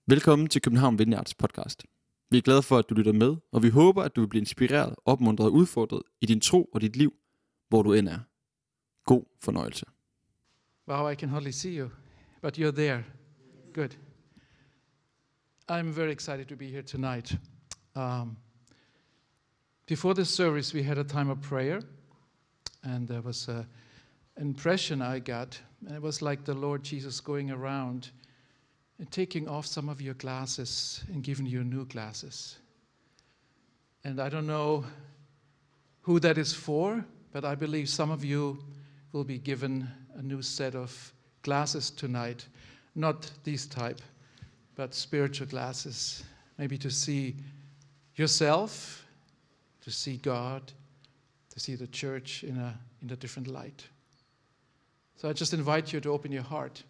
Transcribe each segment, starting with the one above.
Velkommen til København Vineyards podcast. Vi er glade for, at du lytter med, og vi håber, at du vil blive inspireret, opmuntret og udfordret i din tro og dit liv, hvor du end er. God fornøjelse. Wow, I can hardly see you, but you're there. Good. I'm very excited to be here tonight. Before the service, we had a time of prayer, and there was an impression I got, and it was like the Lord Jesus going around and taking off some of your glasses and giving you new glasses. And I don't know who that is for, but I believe some of you will be given a new set of glasses tonight. Not these type, but spiritual glasses. Maybe to see yourself, to see God, to see the church in a different light. So I just invite you to open your heart.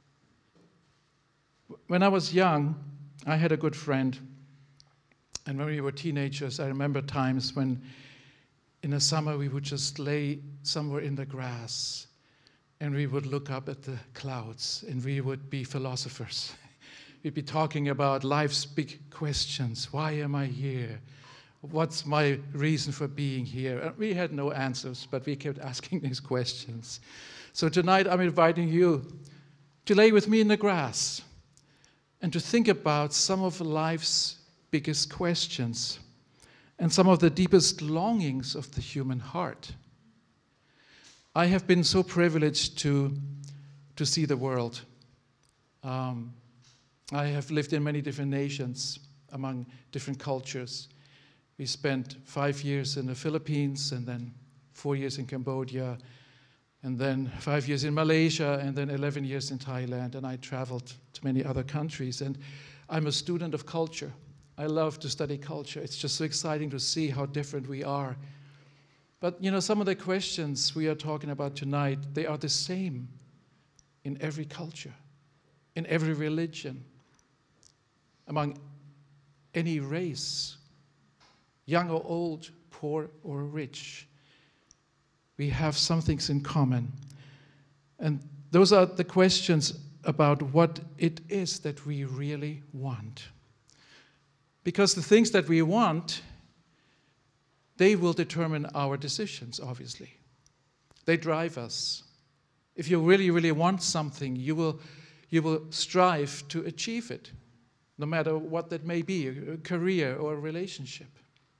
When I was young, I had a good friend. And when we were teenagers, I remember times when in the summer we would just lay somewhere in the grass and we would look up at the clouds and we would be philosophers. We'd be talking about life's big questions. Why am I here? What's my reason for being here? And we had no answers, but we kept asking these questions. So tonight I'm inviting you to lay with me in the grass and to think about some of life's biggest questions and some of the deepest longings of the human heart. I have been so privileged to see the world. I have lived in many different nations, among different cultures. We spent 5 years in the Philippines, and then 4 years in Cambodia, and then 5 years in Malaysia, and then 11 years in Thailand, and I traveled to many other countries. And I'm a student of culture. I love to study culture. It's just so exciting to see how different we are. But, you know, some of the questions we are talking about tonight, they are the same in every culture, in every religion, among any race, young or old, poor or rich. We have some things in common. And those are the questions about what it is that we really want. Because the things that we want, they will determine our decisions, obviously. They drive us. If you really, really want something, you will strive to achieve it, no matter what that may be, a career or a relationship.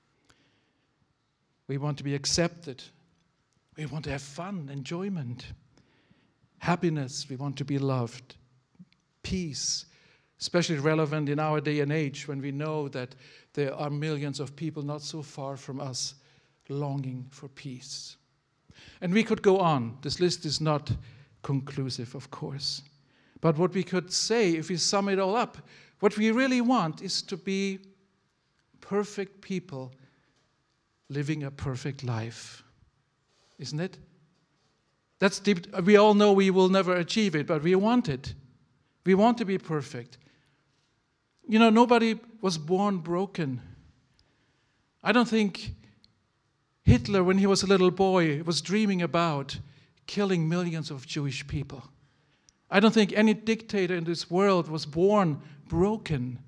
We want to be accepted. We want to have fun, enjoyment, happiness. We want to be loved, peace, especially relevant in our day and age when we know that there are millions of people not so far from us longing for peace. And we could go on. This list is not conclusive, of course. But what we could say, if we sum it all up, what we really want is to be perfect people living a perfect life. Isn't it? That's deep. We all know we will never achieve it, but we want it. We want to be perfect. You know, nobody was born broken. I don't think Hitler, when he was a little boy, was dreaming about killing millions of Jewish people. I don't think any dictator in this world was born broken.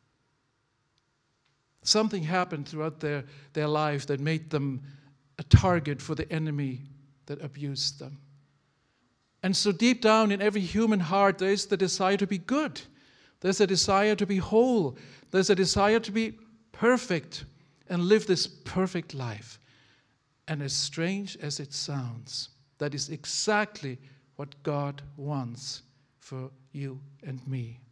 Something happened throughout their life that made them a target for the enemy that abused them. And so deep down in every human heart, there is the desire to be good. There's a desire to be whole. There's a desire to be perfect and live this perfect life. And as strange as it sounds, that is exactly what God wants for you and me.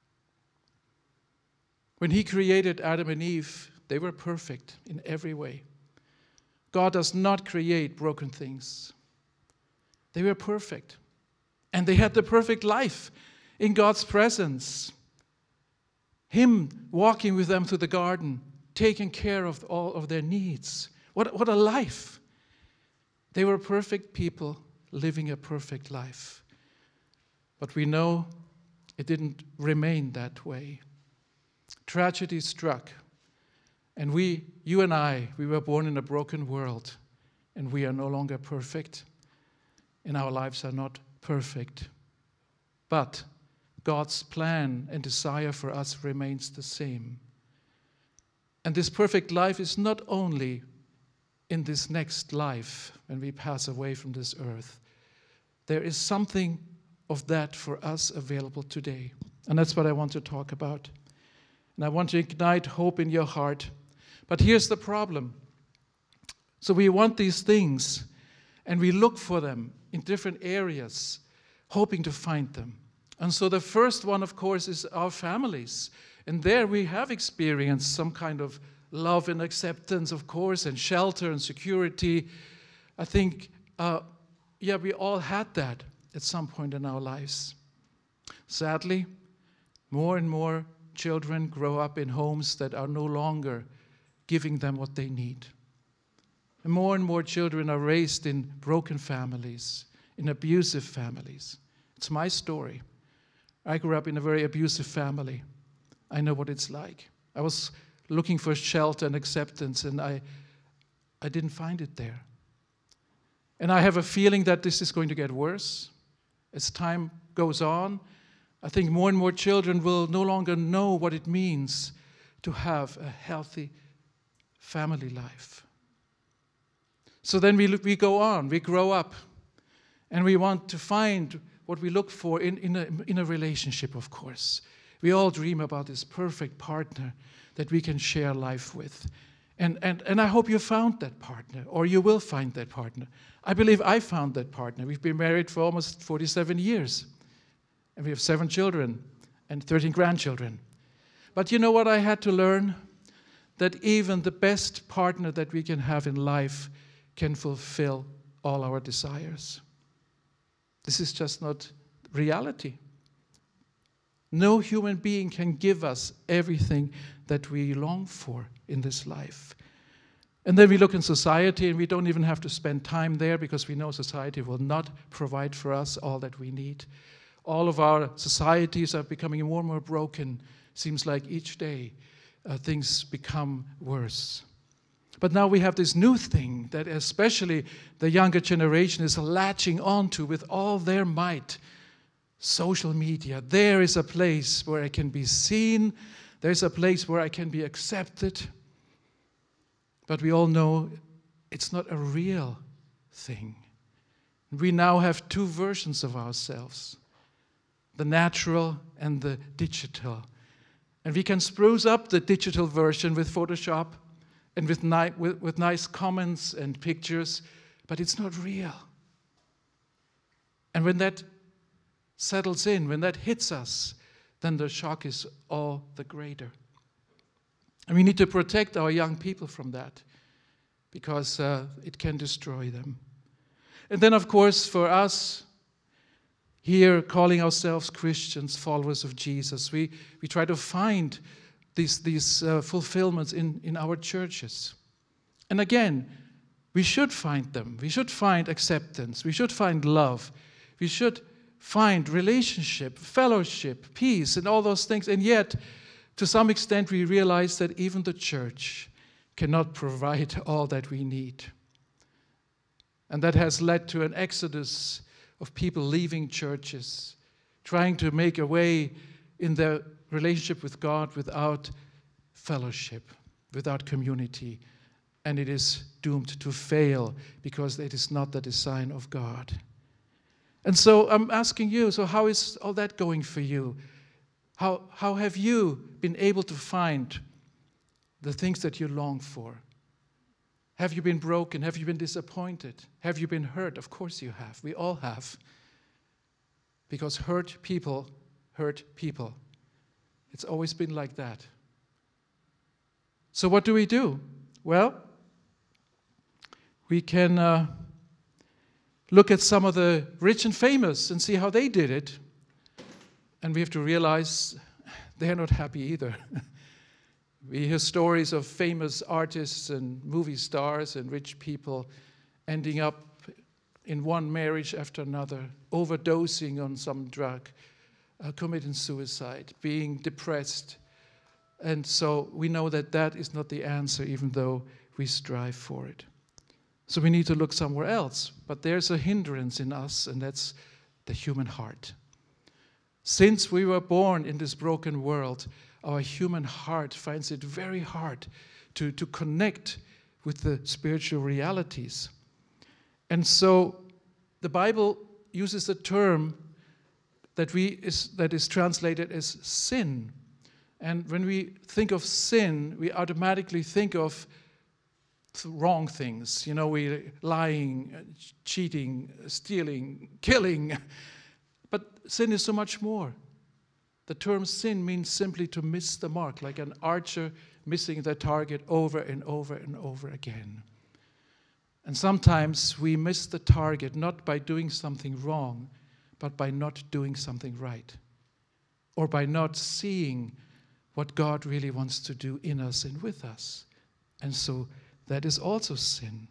When He created Adam and Eve, they were perfect in every way. God does not create broken things. They were perfect. And they had the perfect life in God's presence. Him walking with them through the garden, taking care of all of their needs. What a life. They were perfect people living a perfect life. But we know it didn't remain that way. Tragedy struck. And you and I, we were born in a broken world. And we are no longer perfect. And our lives are not perfect. But God's plan and desire for us remains the same. And this perfect life is not only in this next life when we pass away from this earth. There is something of that for us available today. And that's what I want to talk about. And I want to ignite hope in your heart. But here's the problem. So we want these things, and we look for them in different areas, hoping to find them. And so the first one, of course, is our families. And there we have experienced some kind of love and acceptance, of course, and shelter and security. I think, we all had that at some point in our lives. Sadly, more and more children grow up in homes that are no longer giving them what they need. And more children are raised in broken families, in abusive families. It's my story. I grew up in a very abusive family. I know what it's like. I was looking for shelter and acceptance, and I didn't find it there. And I have a feeling that this is going to get worse as time goes on. I think more and more children will no longer know what it means to have a healthy family life. So then we go on, we grow up, and we want to find what we look for in a relationship, of course. We all dream about this perfect partner that we can share life with. And I hope you found that partner, or you will find that partner. I believe I found that partner. We've been married for almost 47 years. And we have 7 children and 13 grandchildren. But you know what I had to learn? That even the best partner that we can have in life can fulfill all our desires. This is just not reality. No human being can give us everything that we long for in this life. And then we look in society, and we don't even have to spend time there because we know society will not provide for us all that we need. All of our societies are becoming more and more broken. Seems like each day things become worse. But now we have this new thing that especially the younger generation is latching onto with all their might. Social media. There is a place where I can be seen. There's a place where I can be accepted. But we all know it's not a real thing. We now have 2 versions of ourselves, the natural and the digital. And we can spruce up the digital version with Photoshop and with nice comments and pictures, but it's not real. And when that settles in, when that hits us, then the shock is all the greater. And we need to protect our young people from that because it can destroy them. And then, of course, for us, here calling ourselves Christians, followers of Jesus, we try to find these fulfillments in our churches. And again, we should find them. We should find acceptance. We should find love. We should find relationship, fellowship, peace, and all those things. And yet, to some extent, we realize that even the church cannot provide all that we need. And that has led to an exodus of people leaving churches, trying to make a way in their relationship with God without fellowship, without community. And it is doomed to fail because it is not the design of God. And so I'm asking you, so how is all that going for you? How have you been able to find the things that you long for? Have you been broken? Have you been disappointed? Have you been hurt? Of course you have. We all have. Because hurt people hurt people. It's always been like that. So what do we do? Well, we can look at some of the rich and famous and see how they did it. And we have to realize they're not happy either. We hear stories of famous artists and movie stars and rich people ending up in one marriage after another, overdosing on some drug, committing suicide, being depressed. And so we know that that is not the answer, even though we strive for it. So we need to look somewhere else. But there's a hindrance in us, and that's the human heart. Since we were born in this broken world, our human heart finds it very hard to connect with the spiritual realities. And so the Bible uses a term that is translated as sin. And when we think of sin, we automatically think of wrong things. You know, we lying, cheating, stealing, killing. But sin is so much more. The term sin means simply to miss the mark, like an archer missing the target over and over and over again. And sometimes we miss the target not by doing something wrong, but by not doing something right, or by not seeing what God really wants to do in us and with us. And so that is also sin.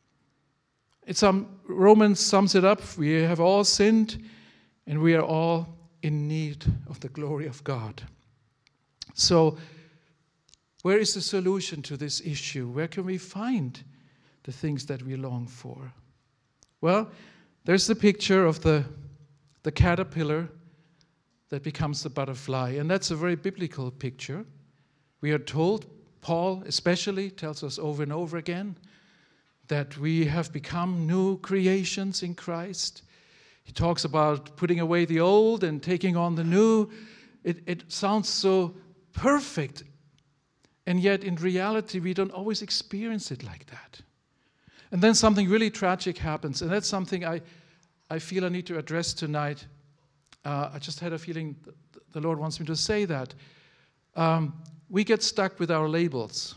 Romans sums it up. We have all sinned, and we are all in need of the glory of God. So where is the solution to this issue? Where can we find the things that we long for? Well, there's the picture of the caterpillar that becomes the butterfly, and that's a very biblical picture. We are told, Paul especially tells us over and over again, that we have become new creations in Christ. He talks about putting away the old and taking on the new. It sounds so perfect, and yet in reality we don't always experience it like that. And then something really tragic happens, and that's something I feel I need to address tonight. I just had a feeling the Lord wants me to say that. We get stuck with our labels.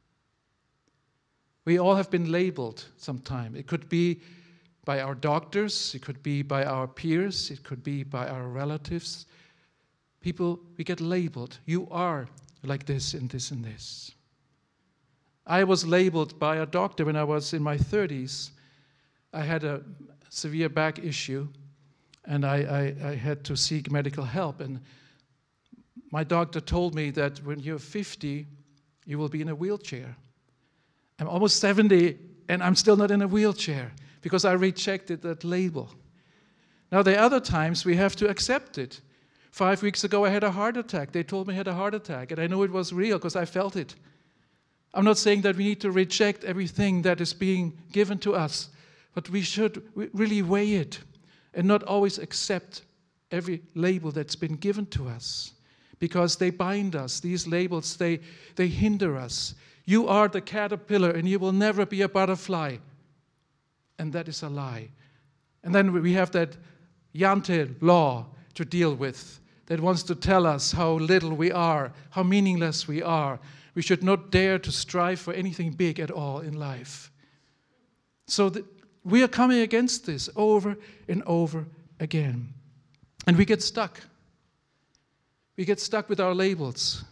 We all have been labeled sometime. It could be by our doctors, it could be by our peers, it could be by our relatives. People, we get labeled. You are like this and this and this. I was labeled by a doctor when I was in my 30s. I had a severe back issue, and I had to seek medical help. And my doctor told me that when you're 50, you will be in a wheelchair. I'm almost 70, and I'm still not in a wheelchair because I rejected that label. Now, there are other times we have to accept it. 5 weeks ago, I had a heart attack. They told me I had a heart attack, and I knew it was real because I felt it. I'm not saying that we need to reject everything that is being given to us, but we should really weigh it and not always accept every label that's been given to us, because they bind us. These labels, they hinder us. You are the caterpillar and you will never be a butterfly. And that is a lie. And then we have that Jante law to deal with that wants to tell us how little we are, how meaningless we are. We should not dare to strive for anything big at all in life. So we are coming against this over and over again. And we get stuck. We get stuck with our labels.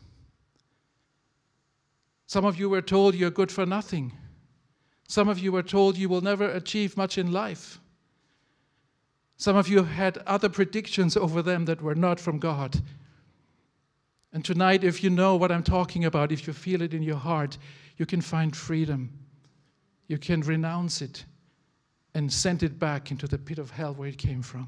Some of you were told you're good for nothing. Some of you were told you will never achieve much in life. Some of you had other predictions over them that were not from God. And tonight, if you know what I'm talking about, if you feel it in your heart, you can find freedom. You can renounce it and send it back into the pit of hell where it came from.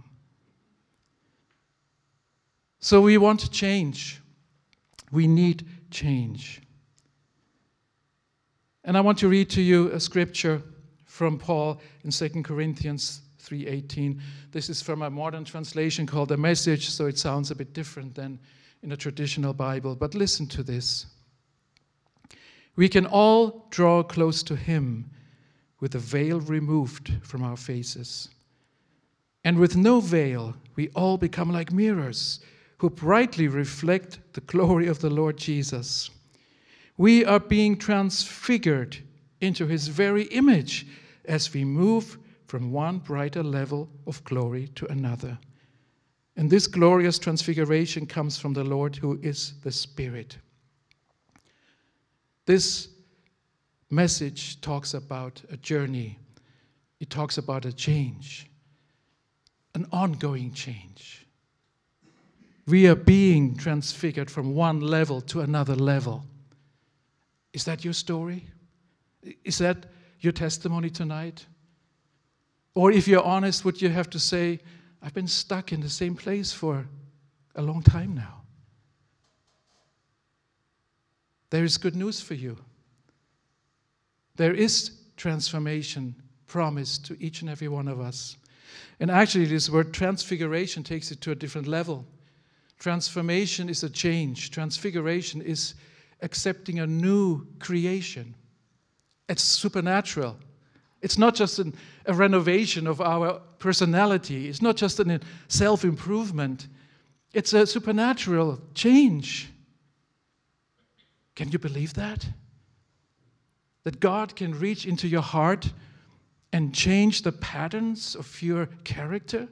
So we want to change. We need change. And I want to read to you a scripture from Paul in 2 Corinthians 3:18. This is from a modern translation called The Message, so it sounds a bit different than in a traditional Bible. But listen to this. We can all draw close to him with the veil removed from our faces. And with no veil, we all become like mirrors who brightly reflect the glory of the Lord Jesus. We are being transfigured into his very image as we move from one brighter level of glory to another. And this glorious transfiguration comes from the Lord who is the Spirit. This message talks about a journey. It talks about a change, an ongoing change. We are being transfigured from one level to another level. Is that your story? Is that your testimony tonight? Or if you're honest, would you have to say, I've been stuck in the same place for a long time now. There is good news for you. There is transformation promised to each and every one of us. And actually, this word transfiguration takes it to a different level. Transformation is a change. Transfiguration is accepting a new creation. It's supernatural. It's not just a renovation of our personality. It's not just a self-improvement. It's a supernatural change. Can you believe that? That God can reach into your heart and change the patterns of your character?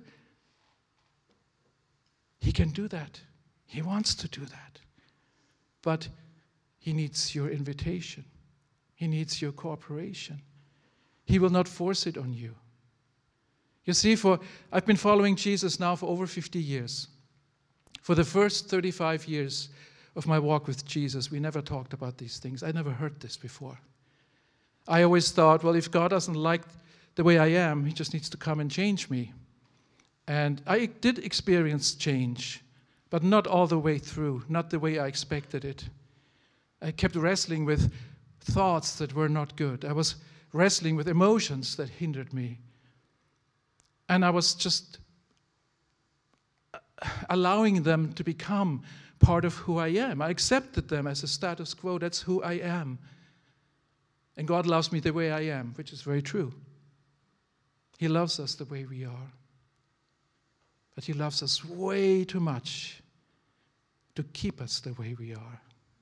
He can do that. He wants to do that. But he needs your invitation. He needs your cooperation. He will not force it on you. You see, I've been following Jesus now for over 50 years. For the first 35 years of my walk with Jesus, we never talked about these things. I never heard this before. I always thought, well, if God doesn't like the way I am, he just needs to come and change me. And I did experience change, but not all the way through, not the way I expected it. I kept wrestling with thoughts that were not good. I was wrestling with emotions that hindered me. And I was just allowing them to become part of who I am. I accepted them as a status quo. That's who I am. And God loves me the way I am, which is very true. He loves us the way we are. But he loves us way too much to keep us the way we are.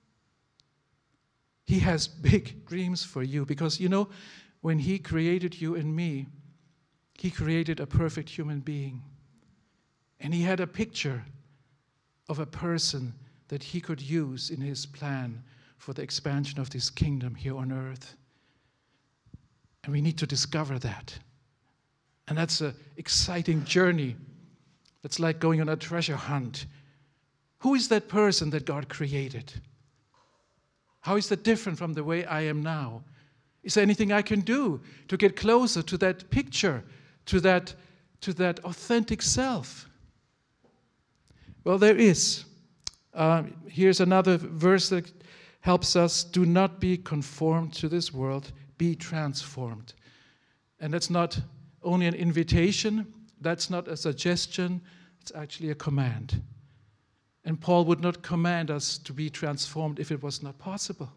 He has big dreams for you because, you know, when he created you and me, he created a perfect human being. And he had a picture of a person that he could use in his plan for the expansion of this kingdom here on earth. And we need to discover that. And that's an exciting journey. That's like going on a treasure hunt. Who is that person that God created? How is that different from the way I am now? Is there anything I can do to get closer to that picture, to that authentic self? Well, there is. Here's another verse that helps us. Do not be conformed to this world, be transformed. And that's not only an invitation, that's not a suggestion, it's actually a command. And Paul would not command us to be transformed if it was not possible.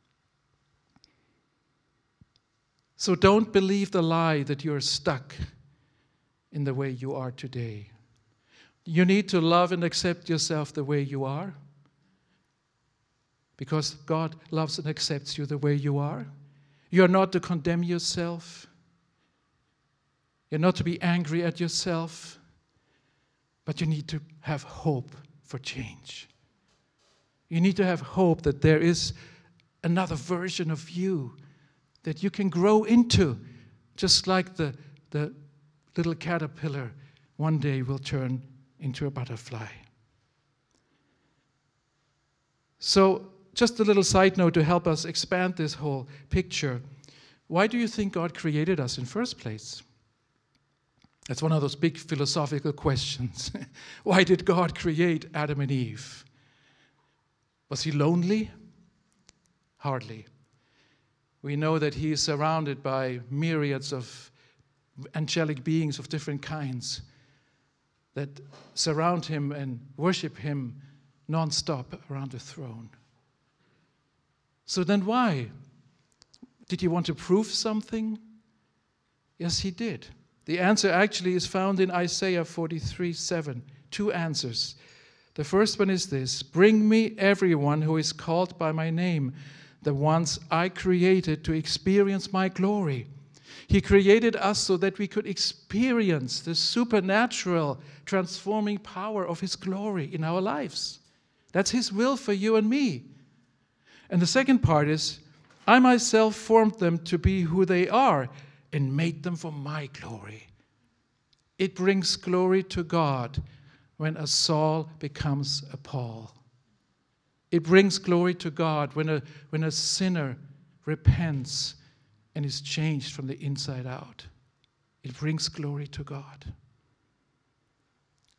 So don't believe the lie that you're stuck in the way you are today. You need to love and accept yourself the way you are, because God loves and accepts you the way you are. You're not to condemn yourself. You're not to be angry at yourself, but you need to have hope for change. You need to have hope that there is another version of you that you can grow into, just like the little caterpillar one day will turn into a butterfly. So, just a little side note to help us expand this whole picture. Why do you think God created us in the first place? That's one of those big philosophical questions. Why did God create Adam and Eve? Was he lonely? Hardly. We know that he is surrounded by myriads of angelic beings of different kinds that surround him and worship him non-stop around the throne. So then why? Did he want to prove something? Yes, he did. The answer actually is found in Isaiah 43:7. Two answers. The first one is this: bring me everyone who is called by my name, the ones I created to experience my glory. He created us so that we could experience the supernatural transforming power of his glory in our lives. That's his will for you and me. And the second part is, I myself formed them to be who they are and made them for my glory. It brings glory to God when a Saul becomes a Paul. It brings glory to God when a sinner repents and is changed from the inside out. It brings glory to God.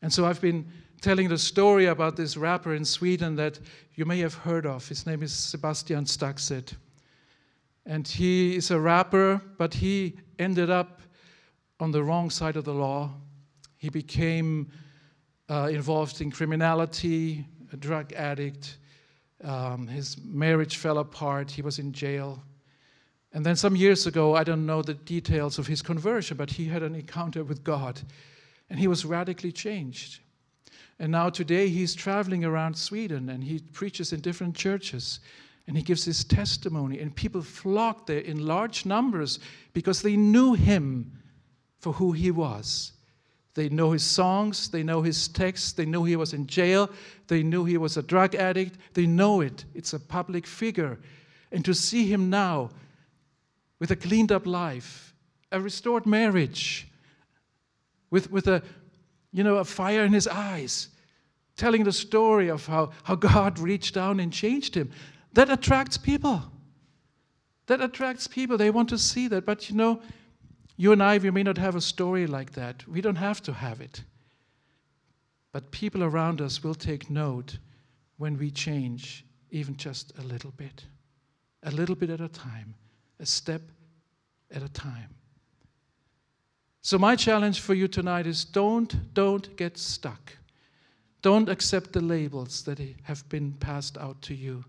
And so I've been telling the story about this rapper in Sweden that you may have heard of. His name is Sebastian Staxet. And he is a rapper, but he ended up on the wrong side of the law. He became involved in criminality, a drug addict. His marriage fell apart. He was in jail. And then some years ago, I don't know the details of his conversion, but he had an encounter with God. And he was radically changed. And now today he's traveling around Sweden and he preaches in different churches. And he gives his testimony. And people flocked there in large numbers because they knew him for who he was. They know his songs, they know his texts, they knew he was in jail, they knew he was a drug addict, they know it. It's a public figure. And to see him now with a cleaned up life, a restored marriage, with a fire in his eyes, telling the story of how God reached down and changed him, that attracts people. That attracts people. They want to see that. But you and I, we may not have a story like that. We don't have to have it. But people around us will take note when we change, even just a little bit at a time, a step at a time. So my challenge for you tonight is don't get stuck. Don't accept the labels that have been passed out to you.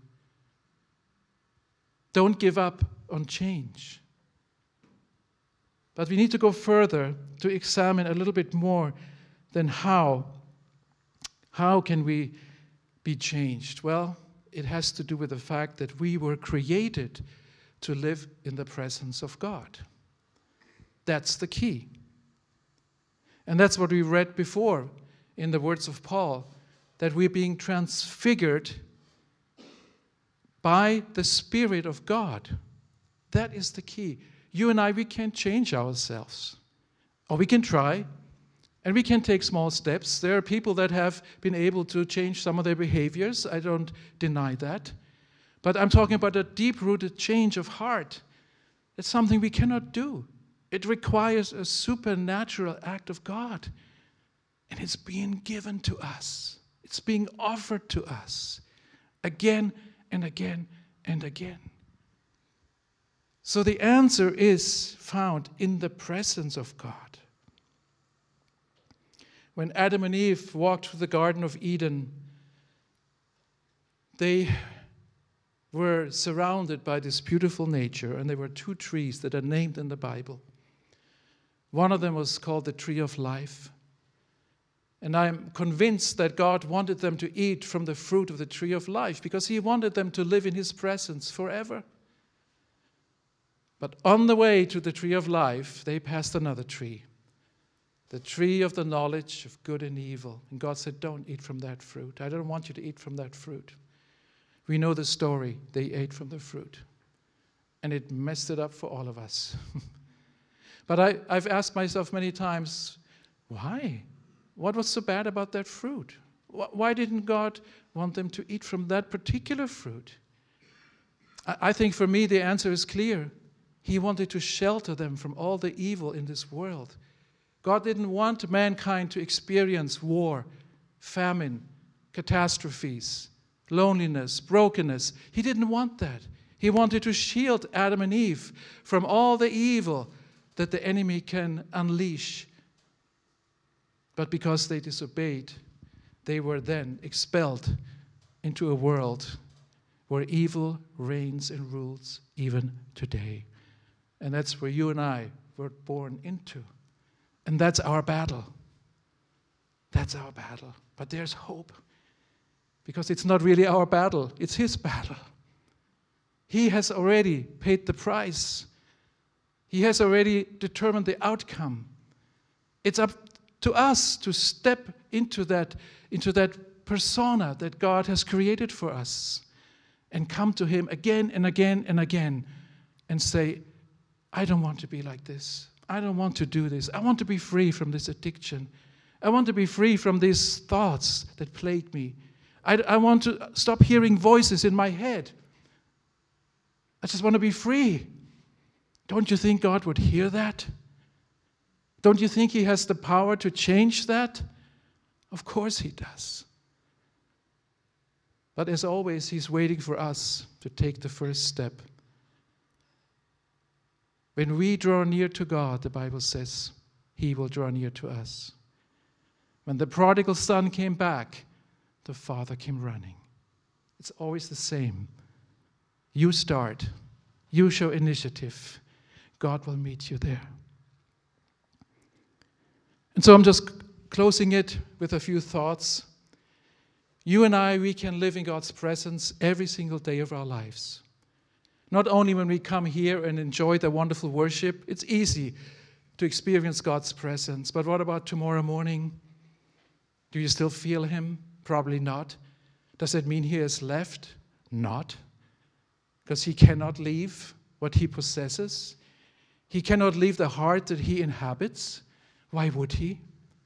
Don't give up on change. But we need to go further to examine a little bit more than how can we be changed? Well, it has to do with the fact that we were created to live in the presence of God. That's the key. And that's what we read before in the words of Paul, that we're being transfigured by the Spirit of God. That is the key. You and I, we can't change ourselves. Or we can try, and we can take small steps. There are people that have been able to change some of their behaviors. I don't deny that. But I'm talking about a deep-rooted change of heart. It's something we cannot do. It requires a supernatural act of God. And it's being given to us. It's being offered to us again and again and again. So the answer is found in the presence of God. When Adam and Eve walked through the Garden of Eden, they were surrounded by this beautiful nature, and there were two trees that are named in the Bible. One of them was called the tree of life. And I'm convinced that God wanted them to eat from the fruit of the tree of life because he wanted them to live in his presence forever. But on the way to the tree of life, they passed another tree, the tree of the knowledge of good and evil. And God said, don't eat from that fruit. I don't want you to eat from that fruit. We know the story. They ate from the fruit. And it messed it up for all of us. But I've asked myself many times, why? What was so bad about that fruit? Why didn't God want them to eat from that particular fruit? I think for me the answer is clear. He wanted to shelter them from all the evil in this world. God didn't want mankind to experience war, famine, catastrophes, loneliness, brokenness. He didn't want that. He wanted to shield Adam and Eve from all the evil that the enemy can unleash. But because they disobeyed, they were then expelled into a world where evil reigns and rules even today. And that's where you and I were born into. And that's our battle. That's our battle. But there's hope. Because it's not really our battle, it's his battle. He has already paid the price. He has already determined the outcome. It's up to us to step into that persona that God has created for us and come to him again and again and again and say, I don't want to be like this. I don't want to do this. I want to be free from this addiction. I want to be free from these thoughts that plague me. I want to stop hearing voices in my head. I just want to be free. Don't you think God would hear that? Don't you think he has the power to change that? Of course he does. But as always, he's waiting for us to take the first step. When we draw near to God, the Bible says, he will draw near to us. When the prodigal son came back, the father came running. It's always the same. You start. You show initiative. God will meet you there. And so I'm just closing it with a few thoughts. You and I, we can live in God's presence every single day of our lives. Not only when we come here and enjoy the wonderful worship, it's easy to experience God's presence. But what about tomorrow morning? Do you still feel him? Probably not. Does that mean he has left? Not. Because he cannot leave what he possesses. He cannot leave the heart that he inhabits. Why would he?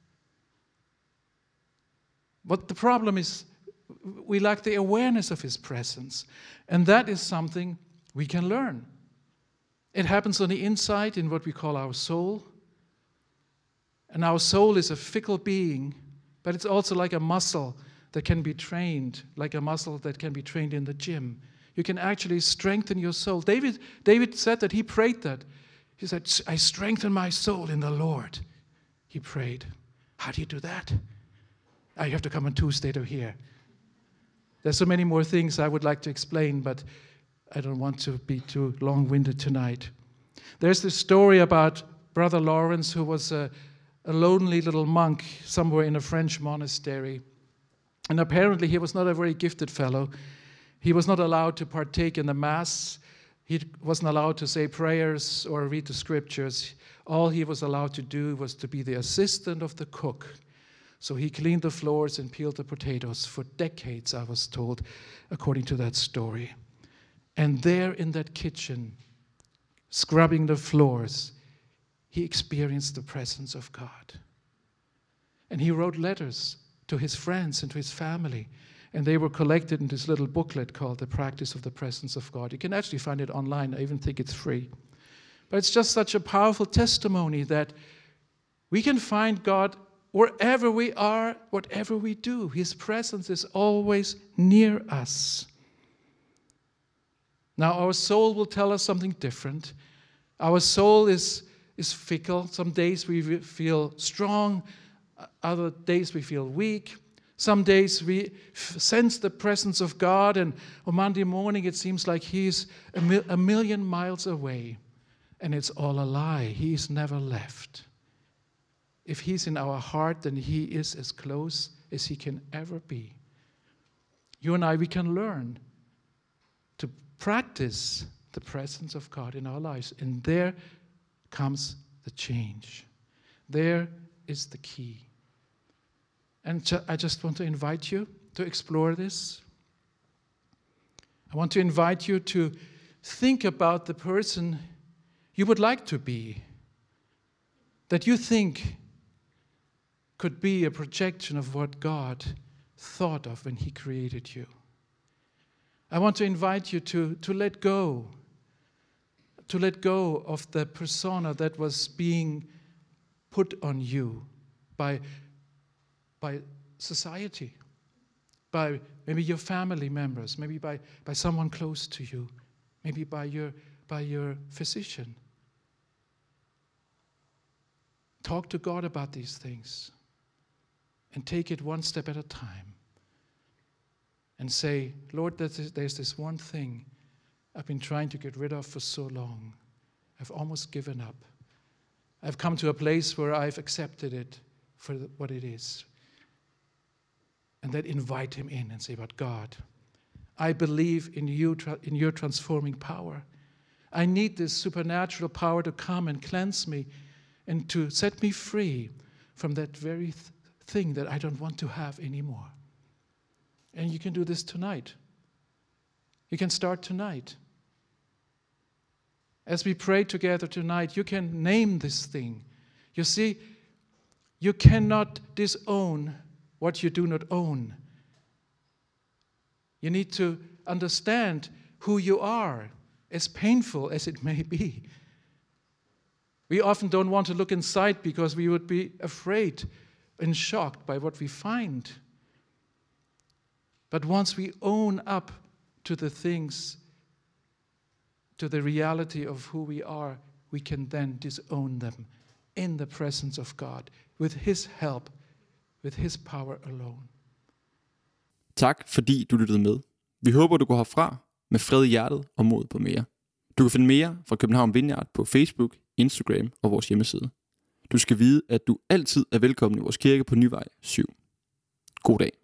But the problem is we lack the awareness of his presence. And that is something we can learn. It happens on the inside in what we call our soul. And our soul is a fickle being, but it's also like a muscle that can be trained, like a muscle that can be trained in the gym. You can actually strengthen your soul. David said that, he prayed that. He said, I strengthen my soul in the Lord. He prayed. How do you do that? You have to come on Tuesday to hear. There's so many more things I would like to explain, but I don't want to be too long-winded tonight. There's this story about Brother Lawrence, who was a lonely little monk somewhere in a French monastery. And apparently he was not a very gifted fellow. He was not allowed to partake in the Mass. He wasn't allowed to say prayers or read the scriptures. All he was allowed to do was to be the assistant of the cook. So he cleaned the floors and peeled the potatoes for decades, I was told, according to that story. And there in that kitchen, scrubbing the floors, he experienced the presence of God. And he wrote letters to his friends and to his family. And they were collected in this little booklet called The Practice of the Presence of God. You can actually find it online. I even think it's free. But it's just such a powerful testimony that we can find God wherever we are, whatever we do. His presence is always near us. Now, our soul will tell us something different. Our soul is fickle. Some days we feel strong. Other days we feel weak. Some days we sense the presence of God, and on Monday morning it seems like he's a million miles away. And it's all a lie. He's never left. If he's in our heart, then he is as close as he can ever be. You and I, we can learn to practice the presence of God in our lives. And there comes the change. There is the key. And I just want to invite you to explore this. I want to invite you to think about the person you would like to be, that you think could be a projection of what God thought of when he created you. I want to invite you to let go of the persona that was being put on you by society, by maybe your family members, maybe by someone close to you, maybe by your physician. Talk to God about these things and take it one step at a time and say, Lord, there's this one thing I've been trying to get rid of for so long. I've almost given up. I've come to a place where I've accepted it for what it is. And then invite him in and say, but God, I believe in you, in your transforming power. I need this supernatural power to come and cleanse me and to set me free from that very thing that I don't want to have anymore. And you can do this tonight. You can start tonight. As we pray together tonight, you can name this thing. You see, you cannot disown what you do not own. You need to understand who you are, as painful as it may be. We often don't want to look inside because we would be afraid and shocked by what we find. But once we own up to the things, to the reality of who we are, we can then disown them in the presence of God, with His help, with His power alone. Tak fordi du lyttede med. Vi håber, du går herfra med fred i hjertet og mod på mere. Du kan finde mere fra København Vineyard på Facebook, Instagram og vores hjemmeside. Du skal vide, at du altid er velkommen i vores kirke på Nyvej 7. God dag.